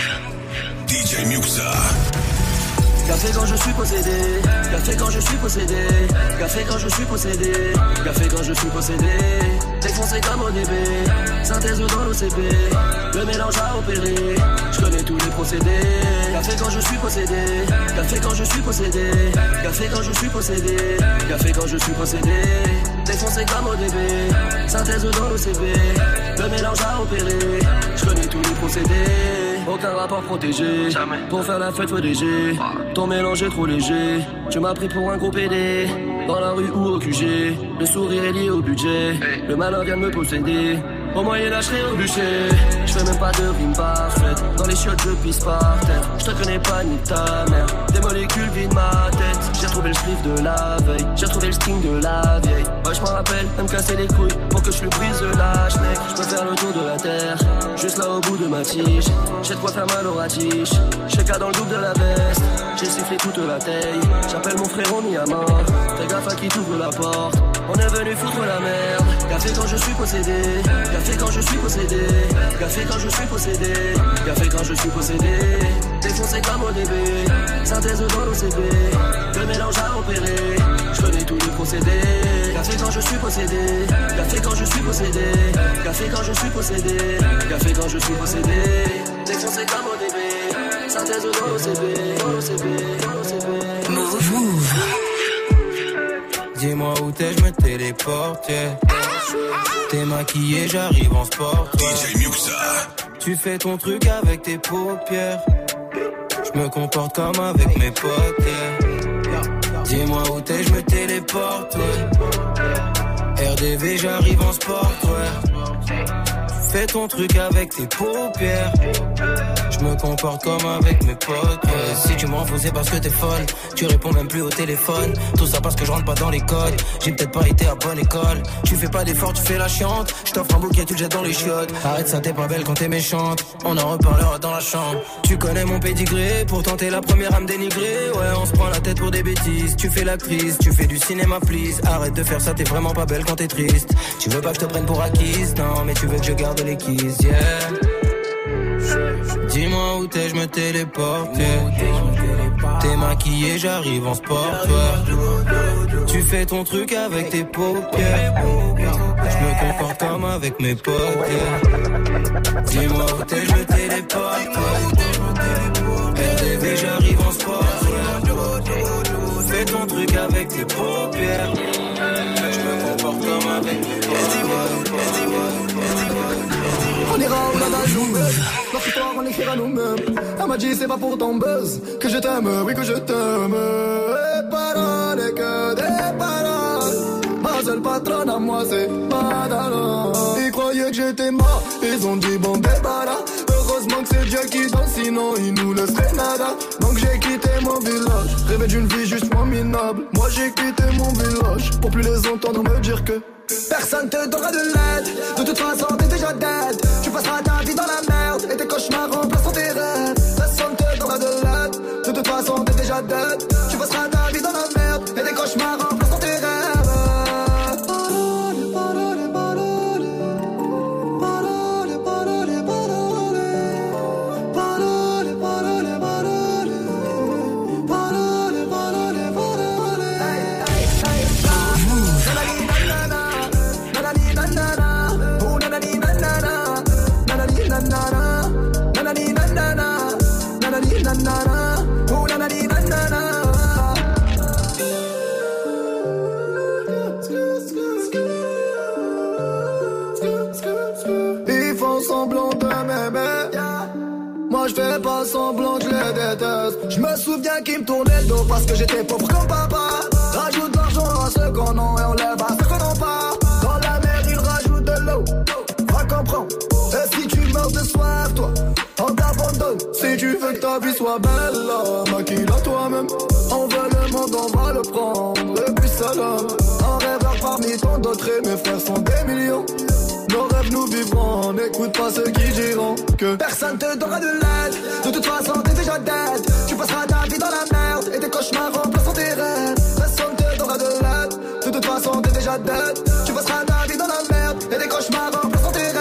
D J Muxa. Café quand je suis possédé, café quand je suis possédé, café quand je suis possédé, café quand je suis possédé. Défoncé comme O D B, synthèse dans l'O C B, le mélange à opérer, je connais tous les procédés. Café quand je suis possédé, café quand je suis possédé, café quand je suis possédé, café quand je suis possédé. Défoncé comme O D B, synthèse dans l'O C B, le mélange à opérer, je connais tous les procédés. Aucun rapport protégé, jamais. Pour faire la fête faut D G. Ton mélange est trop léger, tu m'as pris pour un gros P D. Dans la rue ou au Q G, le sourire est lié au budget. Le malin vient de me posséder, au Moyen-Âge je serai au bûcher. Je fais même pas de rime parfaite, dans les chiottes je pisse par terre. Je te connais pas ni ta mère, des molécules vident ma tête. J'ai retrouvé le spliff de la veille, j'ai retrouvé le string de la vieille. Ouais je m'en rappelle, elle me casser les couilles pour que je lui brise la schneck. Je peux faire le tour de la terre, juste là au bout de ma tige. J'ai de quoi faire mal au ratiche, j'ai qu'à dans le double de la veste. J'ai sifflé toute la taille, j'appelle mon frérot mis à mort. Fais gaffe à qui t'ouvre la porte, on est venu foutre la merde. Café quand je suis possédé, café quand je suis possédé, café quand je suis possédé, café quand je suis possédé. Défoncé comme O D B, synthèse dans l'O C B, le mélange à opérer, je connais tous les procédés. Café quand je suis possédé, café quand je suis possédé, café quand je suis possédé, café quand je suis possédé. Défoncé comme O D B, synthèse dans l'O C B, dans l'O C B, dans l'O C B. Move, move. Dis-moi où t'es, je me téléporte, yeah. T'es maquillé, j'arrive en sport, D J Muxa. Tu fais ton truc avec tes paupières. Je me comporte comme avec mes potes, yeah. Dis-moi où t'es, je me téléporte, ouais. R D V, j'arrive en sport, ouais. Fais ton truc avec tes paupières. Je me comporte comme avec mes potes, ouais. Si tu m'en fous c'est parce que t'es folle. Tu réponds même plus au téléphone. Tout ça parce que je rentre pas dans les codes. J'ai peut-être pas été à bonne école. Tu fais pas d'efforts, tu fais la chiante. Je t'offre un bouquet, tu le jettes dans les chiottes. Arrête ça, t'es pas belle quand t'es méchante. On en reparlera dans la chambre. Tu connais mon pédigré, pourtant t'es la première à me dénigrer. Ouais, on se prend la tête pour des bêtises. Tu fais l'actrice, tu fais du cinéma, please. Arrête de faire ça, t'es vraiment pas belle quand t'es triste. Tu veux pas que je te prenne pour acquise, non, mais tu veux que je garde les keys, yeah. Dis-moi où t'es, je me téléporte, yeah. T'es maquillé, j'arrive en sport, ouais. Tu fais ton truc avec tes paupières. Je me comporte comme avec mes potes, yeah. Dis-moi où t'es, je me téléporte, ouais. R D V, j'arrive en sport, ouais. Fais ton truc avec tes paupières. Je me comporte comme avec mes potes. On ira au lavage au buzz. Notre histoire on l'écrira nous-mêmes. Elle m'a dit c'est pas pour ton buzz que je t'aime, oui que je t'aime. Et paroles et que des paroles. Ma seule patronne à moi c'est Madala. Ils croyaient que j'étais mort, ils ont dit bon débarras. Heureusement que c'est Dieu qui donne, sinon il nous laisserait nada. Donc j'ai quitté mon village, rêvé d'une vie juste moins minable. Moi j'ai quitté mon village, pour plus les entendre me dire que personne te donnera de l'aide. De toute façon t'es déjà dead. Tu passeras ta vie dans la merde, et tes cauchemars remplaceront tes rêves. Personne te donnera de l'aide. De toute façon t'es déjà dead. Tu passeras ta vie dans la merde, et tes cauchemars remplaceront tes rêves. Ils font semblant de m'aimer. Moi je fais pas semblant que je les déteste. Je me souviens qu'ils me tournaient le dos parce que j'étais pauvre comme papa. Rajoute de l'argent à ceux qu'on a et on lève à ceux qu'on n'a pas. Dans la mer ils rajoutent de l'eau. Va comprendre. Et si tu meurs de soif toi, on t'abandonne. Si tu veux que ta vie soit belle là, maquille-la toi-même. On veut le monde, on va le prendre. Et puis salam. Un rêveur parmi tant d'autres et mes frères sont des millions. Nos rêves nous vivrons, n'écoute pas ceux qui diront que personne te donnera de l'aide. De toute façon t'es déjà dead. Tu passeras ta vie dans la merde, et tes cauchemars remplaceront tes rêves. Personne te donnera de l'aide. De toute façon t'es déjà dead. Tu passeras ta vie dans la merde, et tes cauchemars remplaceront tes rêves.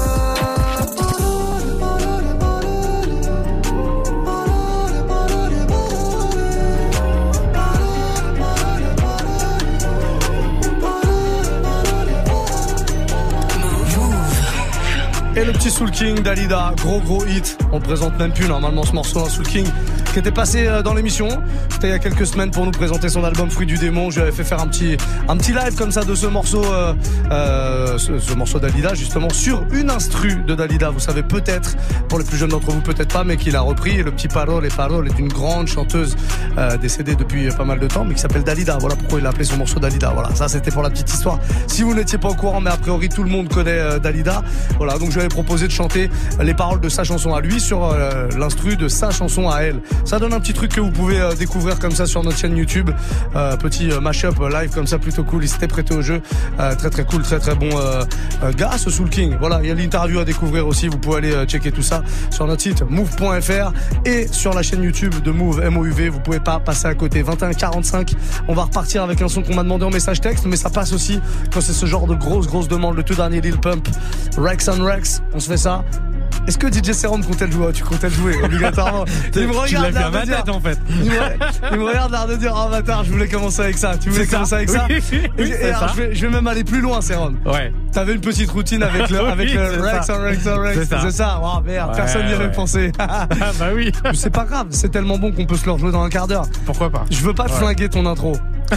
Et le petit Soul King Dalida, gros gros hit. On le présente même plus normalement ce morceau, hein, Soul King, qui était passé dans l'émission. C'était il y a quelques semaines pour nous présenter son album Fruit du Démon. Je lui avais fait faire un petit, un petit live comme ça de ce morceau, euh, euh, ce, ce morceau Dalida justement sur une instru de Dalida. Vous savez peut-être, pour les plus jeunes d'entre vous peut-être pas, mais qu'il a repris. Et le petit Parole et Parole est une grande chanteuse euh, décédée depuis pas mal de temps, mais qui s'appelle Dalida. Voilà pourquoi il a appelé son morceau Dalida. Voilà, ça c'était pour la petite histoire. Si vous n'étiez pas au courant, mais a priori tout le monde connaît euh, Dalida. Voilà, donc je lui avais proposé de chanter les paroles de sa chanson à lui sur euh, l'instru de sa chanson à elle. Ça donne un petit truc que vous pouvez euh, découvrir comme ça sur notre chaîne YouTube. Euh, petit euh, mash-up live comme ça, plutôt cool. Il s'était prêté au jeu. Euh, très très cool, très très bon euh, euh, gars, ce Soul King. Voilà, il y a l'interview à découvrir aussi. Vous pouvez aller euh, checker tout ça sur notre site move point f r et sur la chaîne YouTube de Move, M O U V. Vous pouvez pas passer à côté. vingt et un quarante-cinq. On va repartir avec un son qu'on m'a demandé en message texte, mais ça passe aussi quand c'est ce genre de grosse grosse demande. Le tout dernier Lil Pump, Rex on Rex. On se fait ça. Est-ce que D J Serum comptait le jouer? Tu comptais le jouer obligatoirement. Il me tu l'as regarde fait à l'air ma de dire. tête en fait. Il me, il me regarde l'air de dire oh bâtard, je voulais commencer avec ça. Tu voulais C'est commencer ça. avec ça. Oui, oui, et, c'est et alors, ça. je, vais, je vais même aller plus loin, Serum. Ouais. T'avais une petite routine avec le, Oui, avec le c'est Rex ça. on Rex on Rex. C'est ça. C'est ça. Oh merde, Ouais, personne n'y avait ouais. pensé. Ah bah oui. Mais c'est pas grave, c'est tellement bon qu'on peut se le rejouer dans un quart d'heure. Pourquoi pas? Je veux pas te Ouais. flinguer ton intro.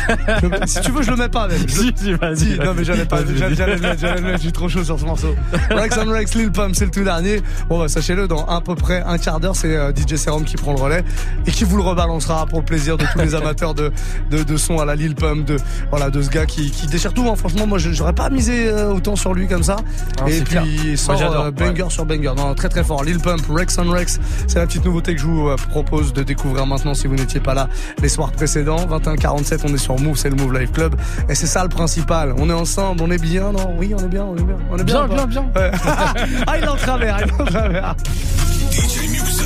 Je- si tu veux, je le mets pas même. Je- Si, si, vas-y. Si, non mais j'allais pas, Vas-y, j'allais, vas-y. j'allais le mettre, j'allais le mettre, je suis trop chaud sur ce morceau. Rex on Rex, Lil Pump, c'est le tout dernier. Bon bah sachez-le, dans à peu près un quart d'heure, c'est euh, D J Serum qui prend le relais et qui vous le rebalancera pour le plaisir de tous les amateurs de, de, de son à la Lil Pump, de, voilà, de ce gars qui, qui déchire tout, hein. Franchement, moi j'aurais pas misé euh, autant sur lui comme ça. Ah, et c'est puis clair. il sort Moi, j'adore, euh, banger ouais. sur banger. Non, très très fort. Lil Pump, Rex on Rex, c'est la petite nouveauté que je vous euh, propose de découvrir maintenant si vous n'étiez pas là les soirs précédents. vingt et un quarante-sept, on est sur Move, c'est le Move Life Club. Et c'est ça le principal. On est ensemble, on est bien, non? Oui, on est bien, on est bien. On est bien, Bien, ou pas bien, bien. Ouais. Ah, il est en travers, il est en travers. D J Muxa.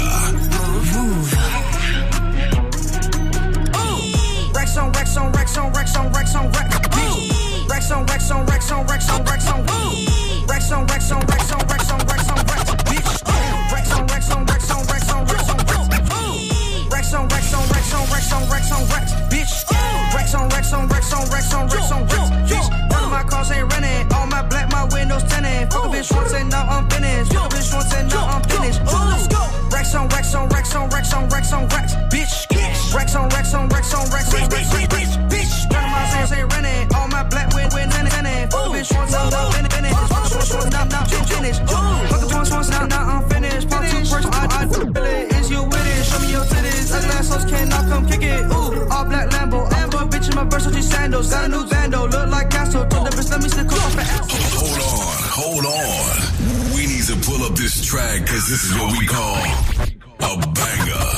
Rex on Rex on Rex on Rex on Rex on Rex. Rex on Rex on Rex on Rex on Rex on Rex on Rex on Rex on Rex on Rex on Rex. Rex on Rex on Rex on Rex on Rex on Rex on Rex on Rex on Rex on Rex on Rex. Bitch. Rex on Rex on Rex on Rex on Rex on Rex. Bitch. None of my cars ain't rented. All my black, my windows tinted. Fuck a bitch once and now I'm finished. Fuck a bitch once and now I'm finished. Ooh. Rex on Rex on Rex on Rex on Rex. this track, cause this is what we call a banger.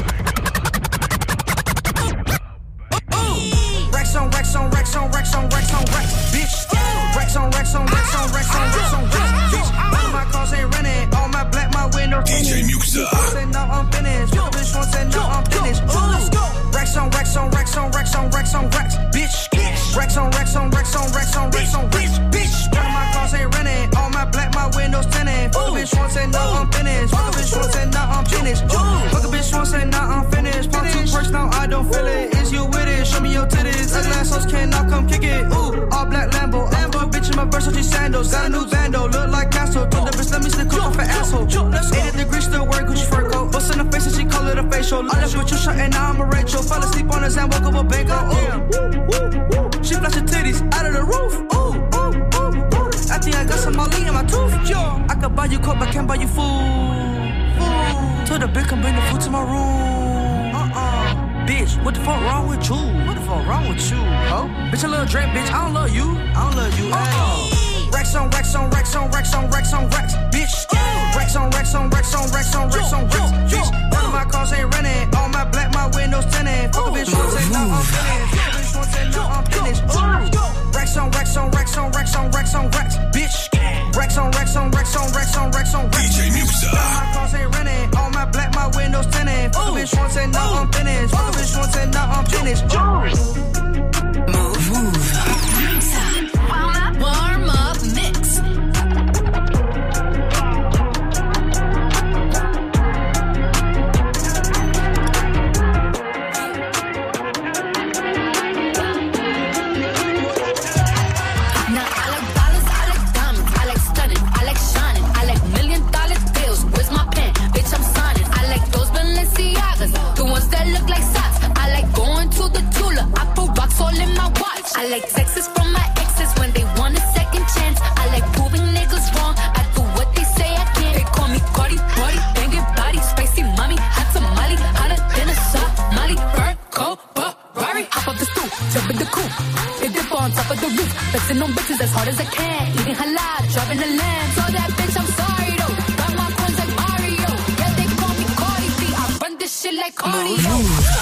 Rex on Rex on Rex on Rex on Rex on Rex, bitch. Rex on Rex on Rex on Rex on Rex on Rex, bitch. All of my cars ain't renting, all my black, my window D J Muxa. Say no, I'm finished. Bitch, bitch, one say no, I'm finished. Rex on Rex on Rex on Rex on Rex on Rex, bitch. Rex on Rex on Rex on Rex on Rex on Rex, bitch. All of my cars ain't renting, all my black, my windows tinted. Fuck a bitch, one say no, I'm finished. Fuck a bitch, one say no, I'm finished. Fuck a bitch, one say no, I'm finished. Pop two perks, now I don't feel it. Is you with it? Show me your titties. Ugly ass hoes cannot come kick it. Ooh, all black Lambo. I'm a bitch in my Versace sandals. Got a new bando, look like Castle. Told the bitch, let me slip cook off an asshole. eighty degrees, still wearing Gucci fur coat. Bust in the face and she call it a facial. I left with you shot and now I'm a Rachel. Fell asleep on his hand, woke up a bango. Ooh, she flash her titties out of the roof. Ooh, ooh, ooh, ooh. I think I got some Molly in my tooth. Yo, I could buy you coke, but can't buy you food. Food. Told the bitch, come bring the food to my room. Uh-uh. Bitch, what the fuck wrong with you? What the fuck wrong with you, ho? Bitch, a little Drake, bitch, I don't love you. I don't love you, ayy. Rex on Rex on Rex on Rex on Rex on Rex, bitch. Rex on Rex on Rex on Rex on Rex on Rex, bitch. None of my cars ain't renting, all my black, my windows tinted. Fuck a bitch, one say no, I'm finished. Fuck a bitch, one say no, I'm finished. Rex on Rex on Rex on Rex on Rex on Rex, bitch. Rex on Rex on Rex on Rex on Rex on Rex. D J Muxa. None of my cars ain't renting, all my black, my windows tinted. Fuck a bitch, one say no, I'm finished. Fuck a bitch, one say no, I'm finished. Move, move. Warm up mix. Now I like dollars, I like diamonds, I like stunning, I like shining, I like million dollar deals. Where's my pen? Bitch, I'm signing. I like those Balenciagas, the ones that look like socks. I like going to the Tula, I put rocks all in my watch. I like texts from my exes when they want a second chance. I like proving niggas wrong, I do what they say I can't. They call me Cardi, Cardi, banging body, spicy mommy, hot tamale, hotter than a Somali. Bird, cold, Ferrari, hop up the stoop, jump in the coupe. They dip on top of the roof, flexing on bitches as hard as I can. Eating halal, driving a lamb. So that bitch, I'm sorry though. Got my coins like Mario. Yeah, they call me Cardi B. I run this shit like cardio.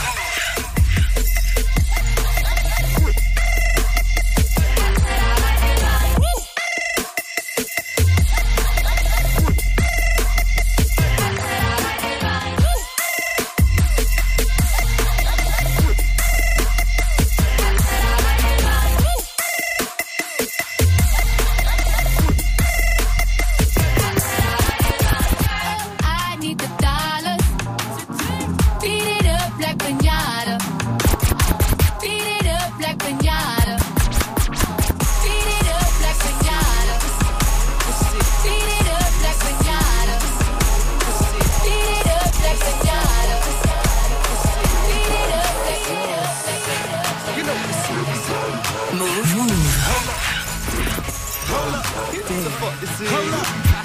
I need the dollars. Beat it up like piñata. Beat it up like piñata. Beat it up like piñata. Beat it up like piñata. Beat it up like piñata. Beat it up like piñata. You know move, move. Hold up. What the fuck this is? Hold up.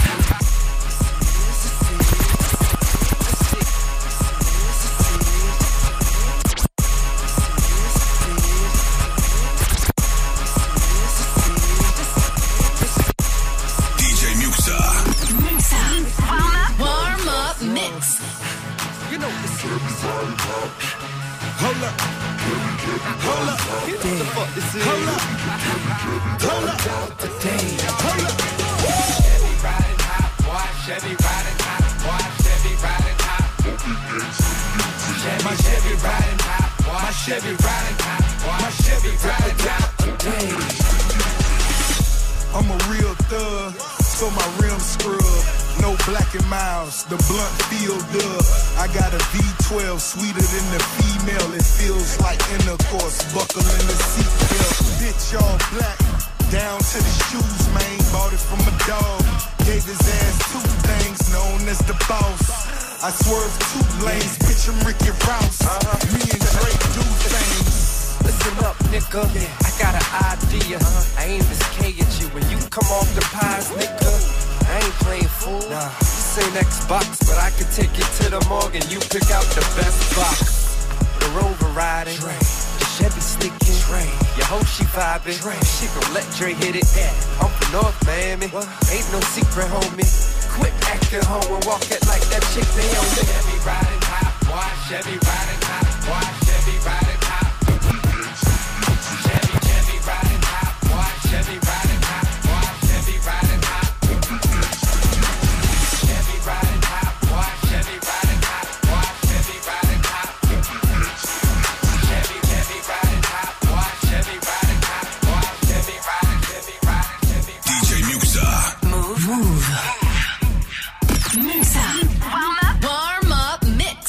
D J Muxa. Warm up mix. You know what this is. Hold up. Hold up. What the fuck this is? Hold up. Hold up. Hold up. Chevy riding hot, boy. Chevy riding hot, boy. Chevy riding hot. Chevy, Chevy riding hot, boy. My Chevy riding hot, boy. My Chevy riding hot today. I'm a real thug, so my rims scrub. No black and miles, the blunt feel dub. I got a V twelve, sweeter than the female. It feels like intercourse, buckle in the seatbelt. Bitch all black, down to the shoes, man. Bought it from a dog, gave his ass two things, known as the boss. I swerve two lanes, bitch, I'm Ricky Rouse. Me and Drake do things. Listen up, nigga. I got an idea. I aim this K at you when you come off the pies, nigga. I ain't playing fool. Nah. This ain't Xbox, but I can take you to the morgue and you pick out the best box. The Rover riding, Dre. The Chevy sticking, Dre. Your hoe she vibing, Dre. She gon' let Dre hit it. I'm from North Miami, what? Ain't no secret, homie. quit acting hoe and walk it like that chick they own. Chevy riding hot, why? Chevy riding hot, why? Chevy riding hot. Chevy, Chevy riding hot, why? Chevy riding hot, why? Chevy riding hot. Chevy riding hot, why? Chevy riding hot, why? Chevy riding hot. Chevy, Chevy riding hot, why? Chevy riding hot, why? Chevy riding, Chevy riding, Chevy riding. D J Muxa. Move. Move. Muxa. Warm up. Warm up mix.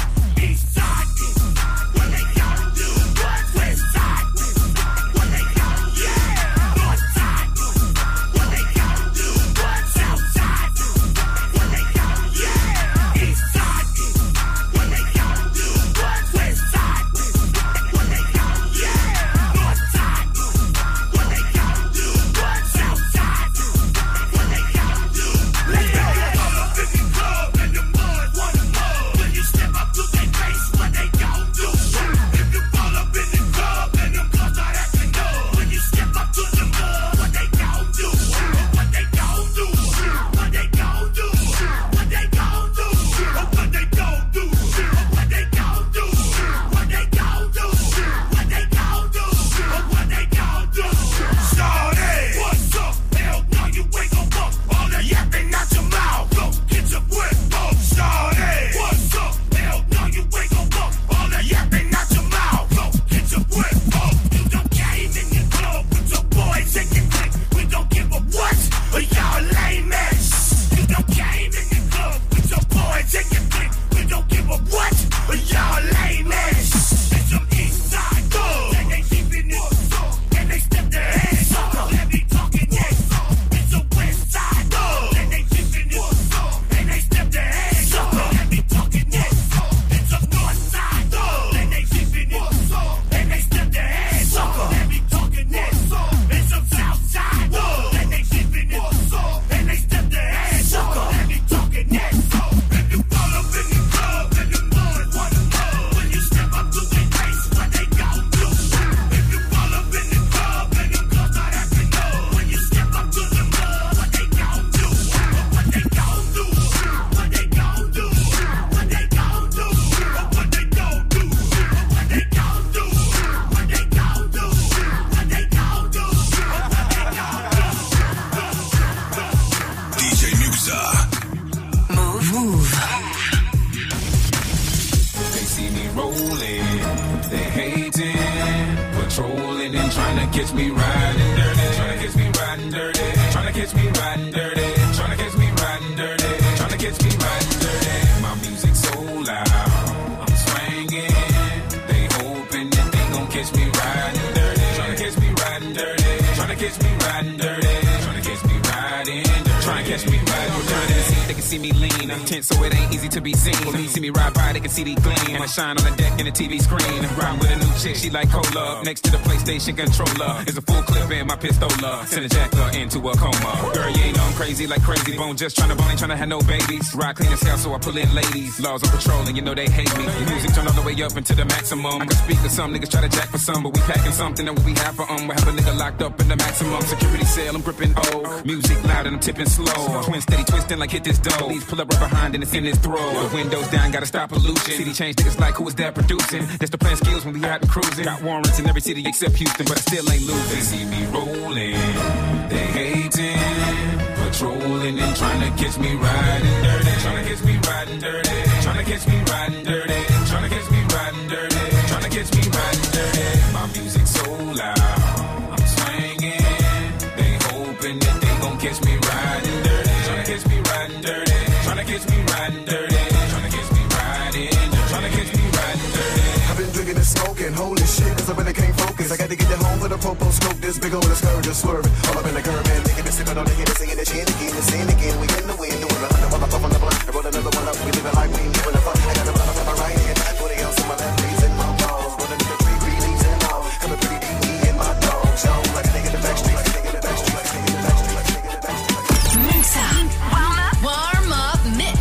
Shine on the deck in the T V screen. Ride with a new chick, she like cola. Next to the PlayStation controller is a full clip in my pistola. Send a jacker into a coma. Girl, you ain't know I'm crazy like crazy bone. Just tryna bone, ain't tryna have no babies. Ride clean as hell, so I pull in ladies. Laws on patrol, and you know they hate me. The music turn all the way up into the maximum. I can speak to some niggas, try to jack for some, but we packing something that we have for um. We have a nigga locked up in the maximum security cell. I'm gripping O. Music loud and I'm tipping slow. Twin steady twisting like hit this dough. Please pull up right behind and it's in his throat. The windows down, gotta stop pollution. City change niggas like who is that producing? That's the plan skills when we out and cruising. Got warrants in every city except Houston, but I still ain't losing. They see me rolling, they hating, patrolling and trying to catch me riding dirty. Trying to catch me riding dirty. Trying to catch me riding dirty. Trying to catch me riding dirty. Trying to catch me riding dirty. My music so loud, I'm swinging. They hoping that they gon' catch me riding dirty. Trying to catch me riding dirty. Trying to catch me riding dirty. Trying to catch me riding dirty. Trying to catch me riding dirty. I've been drinking and smoking, holy shit, cause I really can't focus. I got to get it home with a popo smoke, this big old scourge just swerving. All up in the curb, man, nigga, this sipping on the hit, singing the shit again, the sin again. We in the wind, doing the hundred while I puff on the blunt. I roll another one up, we live it like we ain't giving a fuck. I got a run up in my right hand, twenty ounce in my left, breeze in my balls. Rolling in the tree, green leaves and all. Coming pretty deep, me and my dogs. Show like a nigga in the back street, like a nigga in the back street, like a nigga in the back street, like a nigga in the back street. Muxa. Warm up. Warm up mix.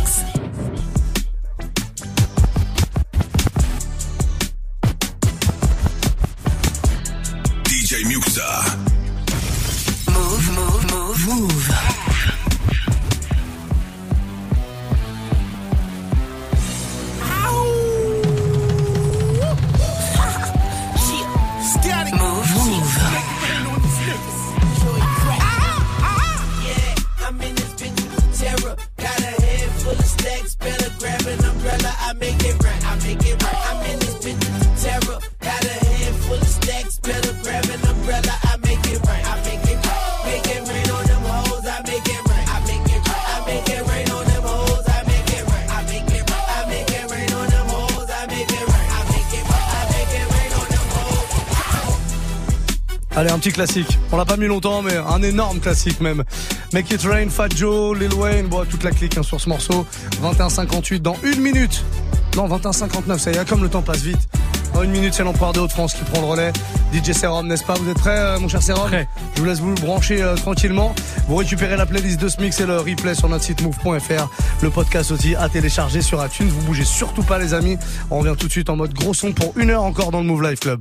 D J Muxa. Move, move. Allez, un petit classique. On l'a pas mis longtemps, mais un énorme classique même. Make It Rain, Fat Joe, Lil Wayne, bon, toute la clique hein, sur ce morceau. vingt et un cinquante-huit dans une minute. Non, vingt et un cinquante-neuf, ça y est, comme le temps passe vite. Dans une minute, c'est l'empereur de Haute-France qui prend le relais. D J Serum, n'est-ce pas? Vous êtes prêts, euh, mon cher Serum? Prêt. Je vous laisse vous brancher euh, tranquillement. Vous récupérez la playlist de ce mix et le replay sur notre site move point f r. Le podcast aussi à télécharger sur iTunes. Vous bougez surtout pas, les amis. On revient tout de suite en mode gros son pour une heure encore dans le Move Life Club.